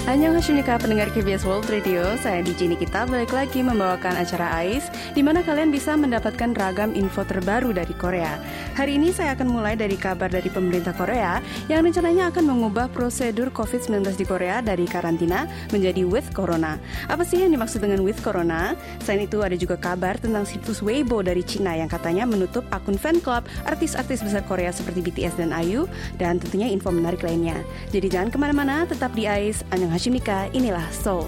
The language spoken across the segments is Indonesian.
Annyeonghaseyo pendengar KBS World Radio, saya DJ Nikita balik lagi membawakan acara AIS, di mana kalian bisa mendapatkan ragam info terbaru dari Korea. Hari ini saya akan mulai dari kabar dari pemerintah Korea yang rencananya akan mengubah prosedur COVID-19 di Korea dari karantina menjadi with Corona. Apa sih yang dimaksud dengan with Corona? Selain itu ada juga kabar tentang situs Weibo dari Cina yang katanya menutup akun fan club artis-artis besar Korea seperti BTS dan IU, dan tentunya info menarik lainnya. Jadi jangan kemana-mana, tetap di AIS. Annyeonghaseyo, inilah Seoul.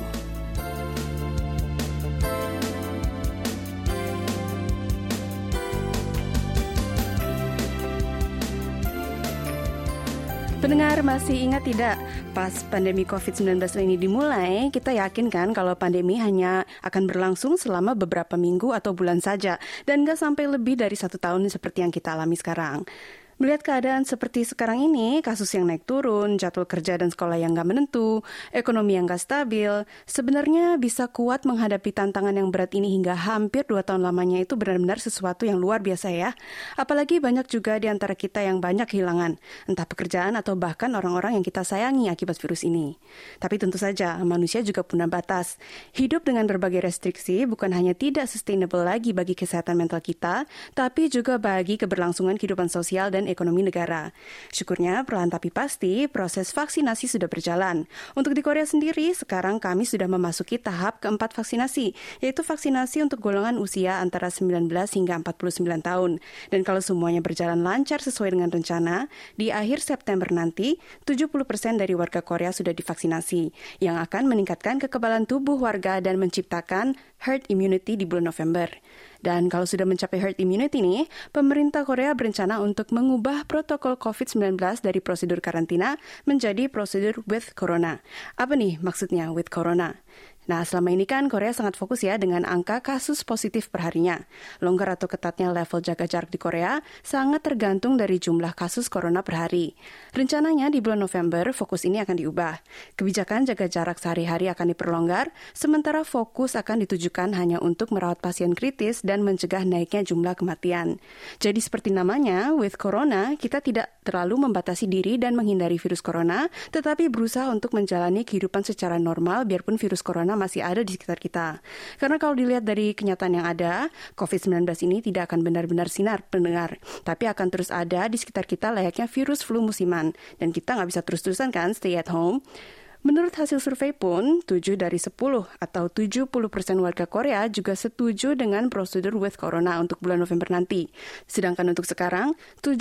Pendengar masih ingat tidak, pas pandemi COVID-19 ini dimulai, kita yakin kan kalau pandemi hanya akan berlangsung selama beberapa minggu atau bulan saja, dan nggak sampai lebih dari 1 tahun seperti yang kita alami sekarang. Melihat keadaan seperti sekarang ini, kasus yang naik turun, jadwal kerja dan sekolah yang nggak menentu, ekonomi yang nggak stabil, sebenarnya bisa kuat menghadapi tantangan yang berat ini hingga hampir 2 tahun lamanya itu benar-benar sesuatu yang luar biasa ya. Apalagi banyak juga di antara kita yang banyak kehilangan, entah pekerjaan atau bahkan orang-orang yang kita sayangi akibat virus ini. Tapi tentu saja, manusia juga punya batas. Hidup dengan berbagai restriksi bukan hanya tidak sustainable lagi bagi kesehatan mental kita, tapi juga bagi keberlangsungan kehidupan sosial dan ekonomi negara. Syukurnya, perlahan tapi pasti, proses vaksinasi sudah berjalan. Untuk di Korea sendiri, sekarang kami sudah memasuki tahap keempat vaksinasi, yaitu vaksinasi untuk golongan usia antara 19 hingga 49 tahun. Dan kalau semuanya berjalan lancar sesuai dengan rencana, di akhir September nanti, 70% dari warga Korea sudah divaksinasi, yang akan meningkatkan kekebalan tubuh warga dan menciptakan herd immunity di bulan November. Dan kalau sudah mencapai herd immunity nih, pemerintah Korea berencana untuk mengubah protokol COVID-19 dari prosedur karantina menjadi prosedur with Corona. Apa nih maksudnya with Corona? Nah, selama ini kan Korea sangat fokus ya dengan angka kasus positif perharinya. Longgar atau ketatnya level jaga jarak di Korea sangat tergantung dari jumlah kasus corona per hari. Rencananya di bulan November fokus ini akan diubah. Kebijakan jaga jarak sehari-hari akan diperlonggar, sementara fokus akan ditujukan hanya untuk merawat pasien kritis dan mencegah naiknya jumlah kematian. Jadi seperti namanya, with Corona, kita tidak terlalu membatasi diri dan menghindari virus corona, tetapi berusaha untuk menjalani kehidupan secara normal biarpun virus corona masih ada di sekitar kita. Karena kalau dilihat dari kenyataan yang ada, COVID-19 ini tidak akan benar-benar sinar pendengar, tapi akan terus ada di sekitar kita layaknya virus flu musiman. Dan kita nggak bisa terus-terusan kan stay at home. Menurut hasil survei pun, 7 dari 10 atau 70% warga Korea juga setuju dengan prosedur with Corona untuk bulan November nanti. Sedangkan untuk sekarang,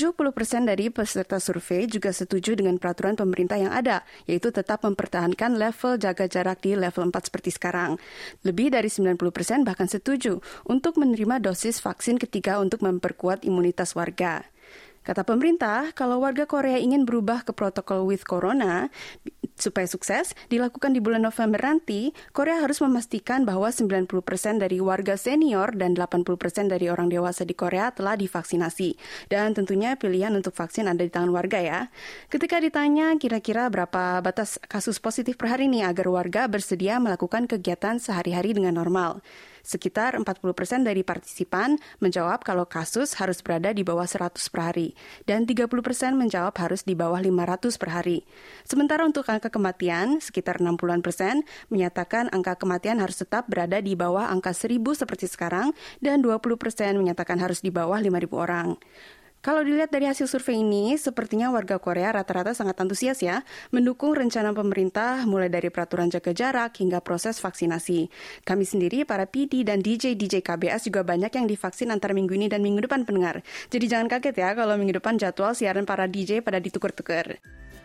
70% dari peserta survei juga setuju dengan peraturan pemerintah yang ada, yaitu tetap mempertahankan level jaga jarak di level 4 seperti sekarang. Lebih dari 90% bahkan setuju untuk menerima dosis vaksin ketiga untuk memperkuat imunitas warga. Kata pemerintah, kalau warga Korea ingin berubah ke protokol with Corona, supaya sukses dilakukan di bulan November nanti, Korea harus memastikan bahwa 90% dari warga senior dan 80% dari orang dewasa di Korea telah divaksinasi. Dan tentunya pilihan untuk vaksin ada di tangan warga ya. Ketika ditanya kira-kira berapa batas kasus positif per hari ini agar warga bersedia melakukan kegiatan sehari-hari dengan normal, sekitar 40% dari partisipan menjawab kalau kasus harus berada di bawah 100 per hari, dan 30% menjawab harus di bawah 500 per hari. Sementara untuk angka kematian, sekitar 60% menyatakan angka kematian harus tetap berada di bawah angka 1.000 seperti sekarang, dan 20% menyatakan harus di bawah 5.000 orang. Kalau dilihat dari hasil survei ini, sepertinya warga Korea rata-rata sangat antusias ya, mendukung rencana pemerintah mulai dari peraturan jaga jarak hingga proses vaksinasi. Kami sendiri, para PD dan DJ KBS juga banyak yang divaksin antara minggu ini dan minggu depan pendengar. Jadi jangan kaget ya kalau minggu depan jadwal siaran para DJ pada ditukar-tukar.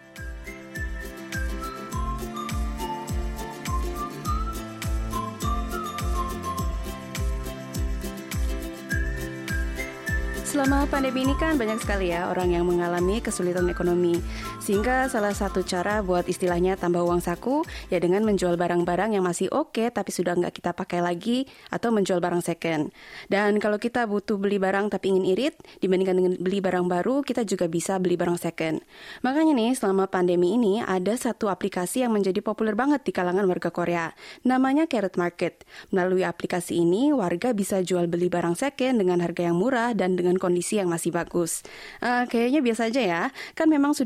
Selama pandemi ini kan banyak sekali ya orang yang mengalami kesulitan ekonomi. Sehingga salah satu cara buat istilahnya tambah uang saku ya dengan menjual barang-barang yang masih oke tapi sudah nggak kita pakai lagi atau menjual barang second. Dan kalau kita butuh beli barang tapi ingin irit, dibandingkan dengan beli barang baru, kita juga bisa beli barang second. Makanya nih selama pandemi ini ada satu aplikasi yang menjadi populer banget di kalangan warga Korea. Namanya Carrot Market. Melalui aplikasi ini warga bisa jual beli barang second dengan harga yang murah dan dengan kondisi yang masih bagus. Kayaknya biasa aja ya, kan memang sudah banyak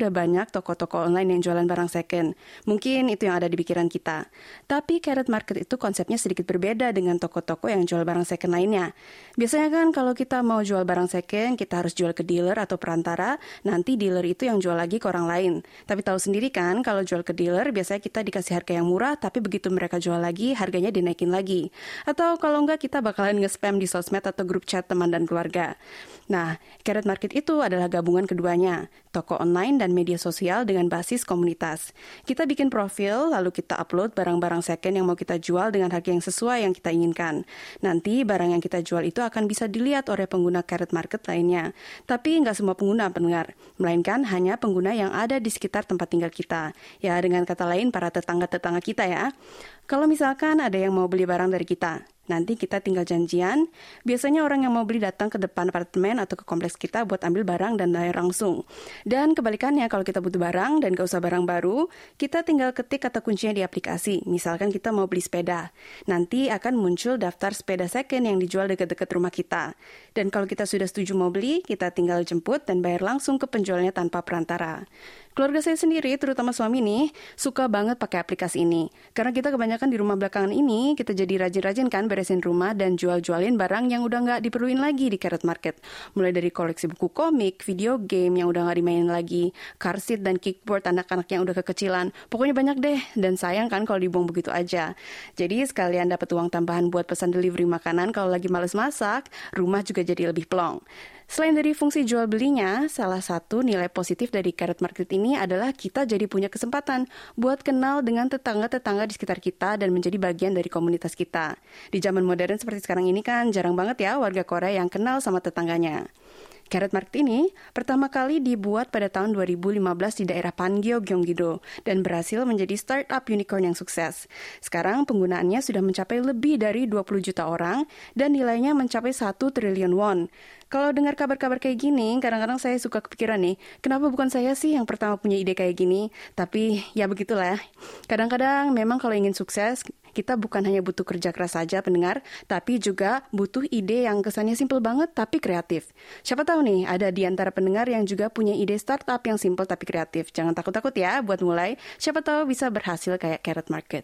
banyak toko-toko online yang jualan barang second. Mungkin itu yang ada di pikiran kita. Tapi Carrot Market itu konsepnya sedikit berbeda dengan toko-toko yang jual barang second lainnya. Biasanya kan kalau kita mau jual barang second, kita harus jual ke dealer atau perantara, nanti dealer itu yang jual lagi ke orang lain. Tapi tahu sendiri kan, kalau jual ke dealer, biasanya kita dikasih harga yang murah, tapi begitu mereka jual lagi, harganya dinaikin lagi. Atau kalau enggak, kita bakalan nge-spam di sosmed atau grup chat teman dan keluarga. Nah, Carrot Market itu adalah gabungan keduanya, toko online dan media sosial dengan basis komunitas. Kita bikin profil, lalu kita upload barang-barang second yang mau kita jual dengan harga yang sesuai yang kita inginkan. Nanti barang yang kita jual itu akan bisa dilihat oleh pengguna Carrot Market lainnya. Tapi nggak semua pengguna pendengar, melainkan hanya pengguna yang ada di sekitar tempat tinggal kita. Ya, dengan kata lain, para tetangga-tetangga kita ya. Kalau misalkan ada yang mau beli barang dari kita, nanti kita tinggal janjian. Biasanya orang yang mau beli datang ke depan apartemen atau ke kompleks kita buat ambil barang dan bayar langsung. Dan kebalikannya, kalau kita butuh barang dan gak usah barang baru, kita tinggal ketik kata kuncinya di aplikasi. Misalkan kita mau beli sepeda. Nanti akan muncul daftar sepeda second yang dijual dekat-dekat rumah kita. Dan kalau kita sudah setuju mau beli, kita tinggal jemput dan bayar langsung ke penjualnya tanpa perantara. Keluarga saya sendiri, terutama suami nih, suka banget pakai aplikasi ini. Karena kita kebanyakan di rumah belakangan ini, kita jadi rajin-rajin kan beresin rumah dan jual-jualin barang yang udah nggak diperluin lagi di Carrot Market. Mulai dari koleksi buku komik, video game yang udah nggak dimainin lagi, car seat dan kickboard anak-anak yang udah kekecilan. Pokoknya banyak deh, dan sayang kan kalau dibuang begitu aja. Jadi sekalian dapat uang tambahan buat pesan delivery makanan kalau lagi males masak, rumah juga jadi lebih plong. Selain dari fungsi jual belinya, salah satu nilai positif dari Carrot Market ini adalah kita jadi punya kesempatan buat kenal dengan tetangga-tetangga di sekitar kita dan menjadi bagian dari komunitas kita. Di zaman modern seperti sekarang ini kan jarang banget ya warga Korea yang kenal sama tetangganya. Carrot Market ini pertama kali dibuat pada tahun 2015 di daerah Pangyo, Gyeonggi-do dan berhasil menjadi startup unicorn yang sukses. Sekarang penggunaannya sudah mencapai lebih dari 20 juta orang dan nilainya mencapai 1 triliun won. Kalau dengar kabar-kabar kayak gini, kadang-kadang saya suka kepikiran nih, kenapa bukan saya sih yang pertama punya ide kayak gini? Tapi ya begitulah. Kadang-kadang memang kalau ingin sukses, kita bukan hanya butuh kerja keras saja pendengar, tapi juga butuh ide yang kesannya simpel banget tapi kreatif. Siapa tahu nih, ada di antara pendengar yang juga punya ide startup yang simpel tapi kreatif. Jangan takut-takut ya buat mulai, siapa tahu bisa berhasil kayak Carrot Market.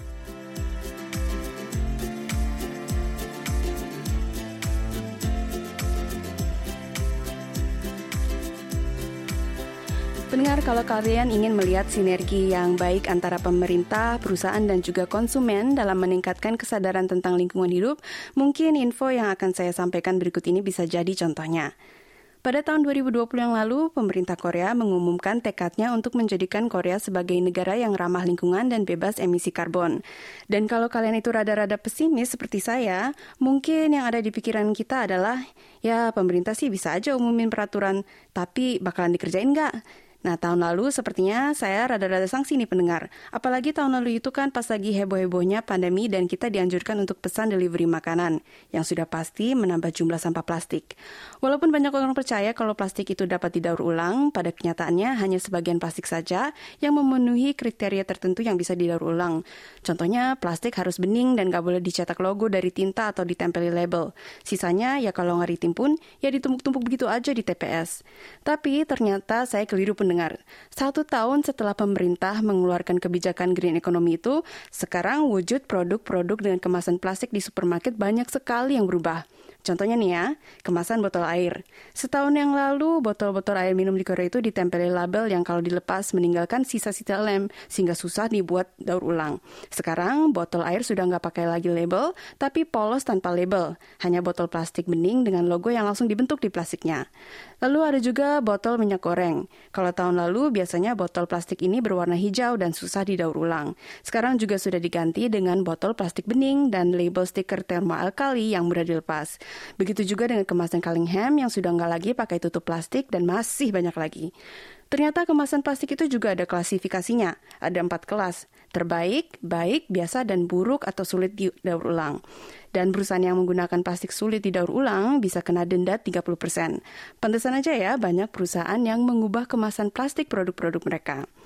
Pendengar, kalau kalian ingin melihat sinergi yang baik antara pemerintah, perusahaan, dan juga konsumen dalam meningkatkan kesadaran tentang lingkungan hidup, mungkin info yang akan saya sampaikan berikut ini bisa jadi contohnya. Pada tahun 2020 yang lalu, pemerintah Korea mengumumkan tekadnya untuk menjadikan Korea sebagai negara yang ramah lingkungan dan bebas emisi karbon. Dan kalau kalian itu rada-rada pesimis seperti saya, mungkin yang ada di pikiran kita adalah, ya pemerintah sih bisa aja umumin peraturan, tapi bakalan dikerjain nggak? Nah, tahun lalu sepertinya saya rada-rada sanksi nih pendengar. Apalagi tahun lalu itu kan pas lagi heboh-hebohnya pandemi dan kita dianjurkan untuk pesan delivery makanan, yang sudah pasti menambah jumlah sampah plastik. Walaupun banyak orang percaya kalau plastik itu dapat didaur ulang, pada kenyataannya hanya sebagian plastik saja yang memenuhi kriteria tertentu yang bisa didaur ulang. Contohnya, plastik harus bening dan gak boleh dicetak logo dari tinta atau ditempeli label. Sisanya, ya kalau nggak ditimpun, ya ditumpuk-tumpuk begitu aja di TPS. Tapi ternyata saya keliru pendengar. 1 tahun setelah pemerintah mengeluarkan kebijakan green economy itu, sekarang wujud produk-produk dengan kemasan plastik di supermarket banyak sekali yang berubah. Contohnya nih ya, kemasan botol air. Setahun yang lalu, botol-botol air minum di Korea itu ditempeli label yang kalau dilepas meninggalkan sisa-sisa lem, sehingga susah dibuat daur ulang. Sekarang, botol air sudah nggak pakai lagi label, tapi polos tanpa label. Hanya botol plastik bening dengan logo yang langsung dibentuk di plastiknya. Lalu ada juga botol minyak goreng. Kalau tahun lalu, biasanya botol plastik ini berwarna hijau dan susah didaur ulang. Sekarang juga sudah diganti dengan botol plastik bening dan label stiker termoalkali yang mudah dilepas. Begitu juga dengan kemasan Callingham yang sudah nggak lagi pakai tutup plastik dan masih banyak lagi. Ternyata kemasan plastik itu juga ada klasifikasinya. Ada 4 kelas, terbaik, baik, biasa, dan buruk atau sulit didaur ulang. Dan perusahaan yang menggunakan plastik sulit didaur ulang bisa kena denda 30%. Pantesan aja ya banyak perusahaan yang mengubah kemasan plastik produk-produk mereka.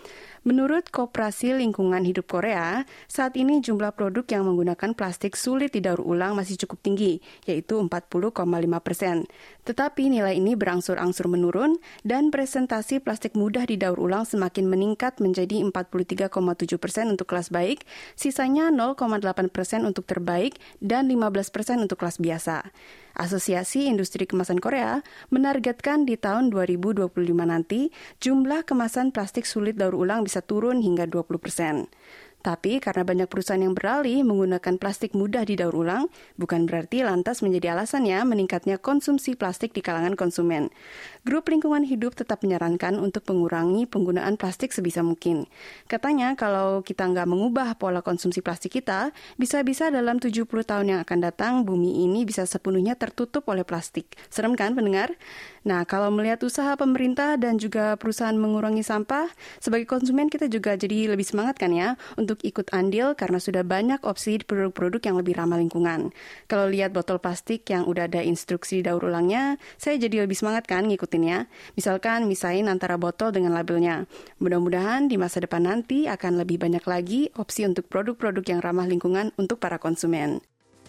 Menurut Koperasi Lingkungan Hidup Korea, saat ini jumlah produk yang menggunakan plastik sulit didaur ulang masih cukup tinggi, yaitu 40,5%. Tetapi nilai ini berangsur-angsur menurun dan presentasi plastik mudah didaur ulang semakin meningkat menjadi 43,7% untuk kelas baik, sisanya 0,8% untuk terbaik, dan 15% untuk kelas biasa. Asosiasi Industri Kemasan Korea menargetkan di tahun 2025 nanti jumlah kemasan plastik sulit daur ulang bisa turun hingga 20%. Tapi karena banyak perusahaan yang beralih menggunakan plastik mudah didaur ulang, bukan berarti lantas menjadi alasannya meningkatnya konsumsi plastik di kalangan konsumen. Grup Lingkungan Hidup tetap menyarankan untuk mengurangi penggunaan plastik sebisa mungkin. Katanya kalau kita nggak mengubah pola konsumsi plastik kita, bisa-bisa dalam 70 tahun yang akan datang, bumi ini bisa sepenuhnya tertutup oleh plastik. Serem kan pendengar? Nah, kalau melihat usaha pemerintah dan juga perusahaan mengurangi sampah, sebagai konsumen kita juga jadi lebih semangat kan ya untuk ikut andil karena sudah banyak opsi produk-produk yang lebih ramah lingkungan. Kalau lihat botol plastik yang udah ada instruksi daur ulangnya, saya jadi lebih semangat kan ngikutinnya. Misalkan misahin antara botol dengan labelnya. Mudah-mudahan di masa depan nanti akan lebih banyak lagi opsi untuk produk-produk yang ramah lingkungan untuk para konsumen.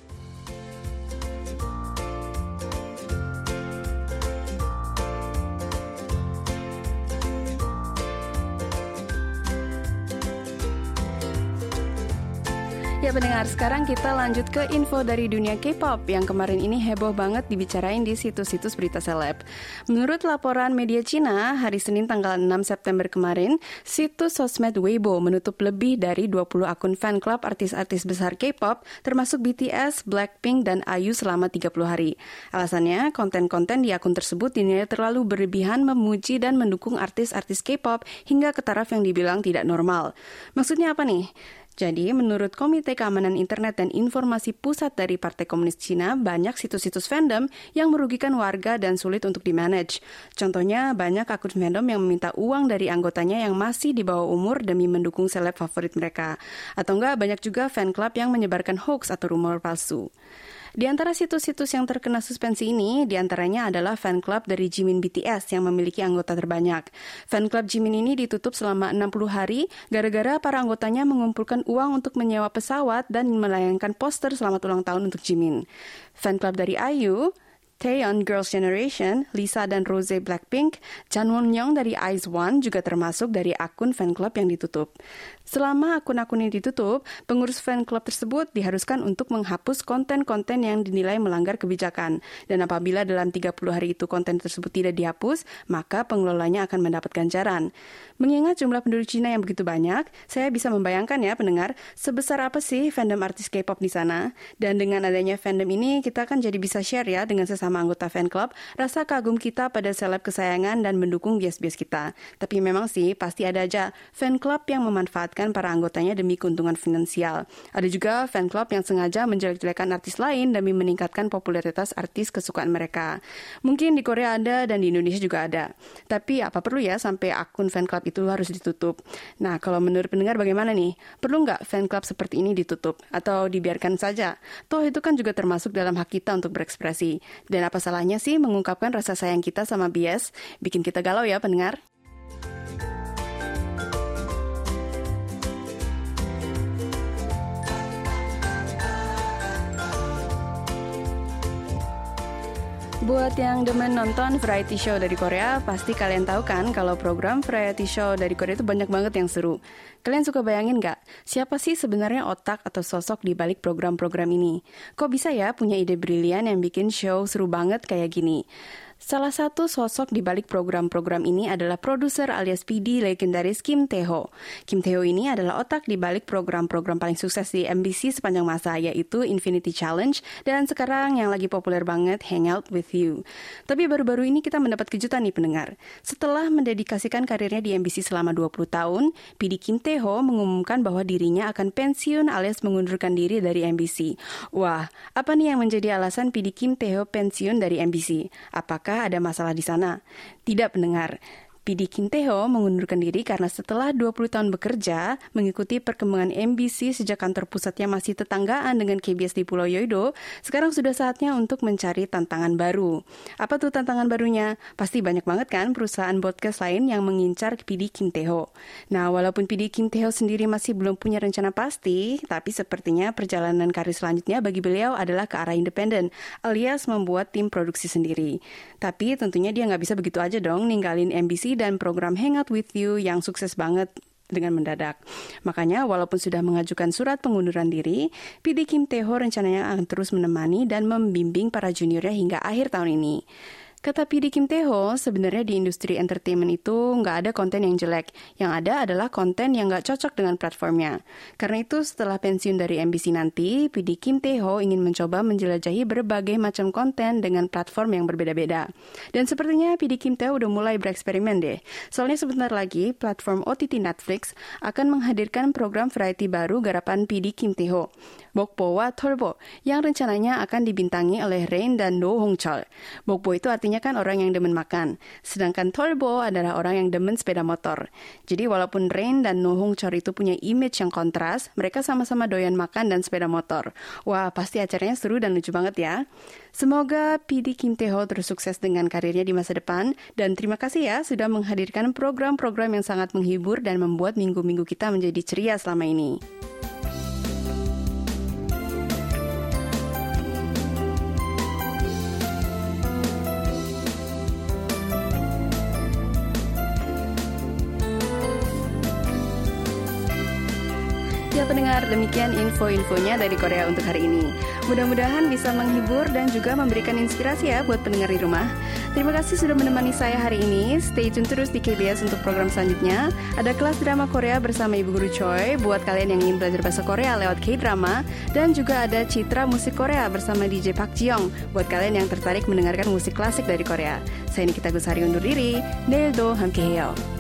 Ya pendengar, sekarang kita lanjut ke info dari dunia K-pop yang kemarin ini heboh banget dibicarain di situs-situs berita seleb. Menurut laporan media Cina, hari Senin tanggal 6 September kemarin, situs sosmed Weibo menutup lebih dari 20 akun fan club artis-artis besar K-pop, termasuk BTS, Blackpink, dan IU selama 30 hari. Alasannya, konten-konten di akun tersebut dinilai terlalu berlebihan memuji dan mendukung artis-artis K-pop hingga ke taraf yang dibilang tidak normal. Maksudnya apa nih? Jadi, menurut Komite Keamanan Internet dan Informasi Pusat dari Partai Komunis Cina, banyak situs-situs fandom yang merugikan warga dan sulit untuk dimanage. Contohnya, banyak akun fandom yang meminta uang dari anggotanya yang masih di bawah umur demi mendukung seleb favorit mereka. Atau enggak, banyak juga fan club yang menyebarkan hoax atau rumor palsu. Di antara situs-situs yang terkena suspensi ini, di antaranya adalah fan club dari Jimin BTS yang memiliki anggota terbanyak. Fan club Jimin ini ditutup selama 60 hari gara-gara para anggotanya mengumpulkan uang untuk menyewa pesawat dan melayangkan poster selamat ulang tahun untuk Jimin. Fan club dari IU, Taeyeon Girls' Generation, Lisa dan Rose Blackpink, Jang Won-young dari IZ*ONE juga termasuk dari akun fan club yang ditutup. Selama akun-akun ini ditutup, pengurus fan club tersebut diharuskan untuk menghapus konten-konten yang dinilai melanggar kebijakan. Dan apabila dalam 30 hari itu konten tersebut tidak dihapus, maka pengelolanya akan mendapat ganjaran. Mengingat jumlah penduduk Cina yang begitu banyak, saya bisa membayangkan ya pendengar, sebesar apa sih fandom artis K-pop di sana. Dan dengan adanya fandom ini, kita kan jadi bisa share ya dengan sesama anggota fan club, rasa kagum kita pada seleb kesayangan dan mendukung bias-bias kita. Tapi memang sih, pasti ada aja fan club yang memanfaatkan para anggotanya demi keuntungan finansial. Ada juga fan club yang sengaja menjelek-jelekan artis lain demi meningkatkan popularitas artis kesukaan mereka. Mungkin di Korea ada dan di Indonesia juga ada. Tapi apa perlu ya sampai akun fan club itu harus ditutup? Nah, kalau menurut pendengar bagaimana nih? Perlu nggak fan club seperti ini ditutup? Atau dibiarkan saja? Toh itu kan juga termasuk dalam hak kita untuk berekspresi. Dan apa salahnya sih mengungkapkan rasa sayang kita sama bias? Bikin kita galau ya pendengar? Buat yang demen nonton variety show dari Korea, pasti kalian tahu kan kalau program variety show dari Korea itu banyak banget yang seru. Kalian suka bayangin nggak, siapa sih sebenarnya otak atau sosok di balik program-program ini? Kok bisa ya punya ide brilian yang bikin show seru banget kayak gini? Salah satu sosok di balik program-program ini adalah produser alias PD legendaris Kim Tae-ho. Kim Tae-ho ini adalah otak di balik program-program paling sukses di MBC sepanjang masa, yaitu Infinity Challenge dan sekarang yang lagi populer banget Hangout with You. Tapi baru-baru ini kita mendapat kejutan nih pendengar. Setelah mendedikasikan karirnya di MBC selama 20 tahun, PD Kim Tae-ho mengumumkan bahwa dirinya akan pensiun alias mengundurkan diri dari MBC. Wah, apa nih yang menjadi alasan PD Kim Tae-ho pensiun dari MBC? Apakah ada masalah di sana? Tidak pendengar. PD Kim Tae-ho mengundurkan diri karena setelah 20 tahun bekerja, mengikuti perkembangan MBC sejak kantor pusatnya masih tetanggaan dengan KBS di Pulau Yeouido, sekarang sudah saatnya untuk mencari tantangan baru. Apa tuh tantangan barunya? Pasti banyak banget kan perusahaan broadcast lain yang mengincar PD Kim Tae-ho. Nah, walaupun PD Kim Tae-ho sendiri masih belum punya rencana pasti, tapi sepertinya perjalanan karir selanjutnya bagi beliau adalah ke arah independen, alias membuat tim produksi sendiri. Tapi tentunya dia nggak bisa begitu aja dong ninggalin MBC dan program Hangout With You yang sukses banget dengan mendadak. Makanya walaupun sudah mengajukan surat pengunduran diri, PD Kim Tae-ho rencananya akan terus menemani dan membimbing para juniornya hingga akhir tahun ini. Kata PD Kim Tae-ho, sebenarnya di industri entertainment itu nggak ada konten yang jelek. Yang ada adalah konten yang nggak cocok dengan platformnya. Karena itu setelah pensiun dari MBC nanti, PD Kim Tae-ho ingin mencoba menjelajahi berbagai macam konten dengan platform yang berbeda-beda. Dan sepertinya PD Kim Tae-ho udah mulai bereksperimen deh. Soalnya sebentar lagi, platform OTT Netflix akan menghadirkan program variety baru garapan PD Kim Tae-ho, Bokbo와 털보, yang rencananya akan dibintangi oleh Rain dan No Hongchol. Bokbo itu artinya kan orang yang demen makan, sedangkan 털보 adalah orang yang demen sepeda motor. Jadi walaupun Rain dan No Hongchol itu punya image yang kontras, mereka sama-sama doyan makan dan sepeda motor. Wah, pasti acaranya seru dan lucu banget ya. Semoga PD Kim Tae-ho terus sukses dengan karirnya di masa depan, dan terima kasih ya sudah menghadirkan program-program yang sangat menghibur dan membuat minggu-minggu kita menjadi ceria selama ini. Ya pendengar, demikian info-infonya dari Korea untuk hari ini. Mudah-mudahan bisa menghibur dan juga memberikan inspirasi ya buat pendengar di rumah. Terima kasih sudah menemani saya hari ini. Stay tune terus di KBS untuk program selanjutnya. Ada kelas drama Korea bersama Ibu Guru Choi buat kalian yang ingin belajar bahasa Korea lewat K-drama. Dan juga ada Citra Musik Korea bersama DJ Park Ji-young buat kalian yang tertarik mendengarkan musik klasik dari Korea. Saya Nikita Gusari undur diri. 내일도 함께해요.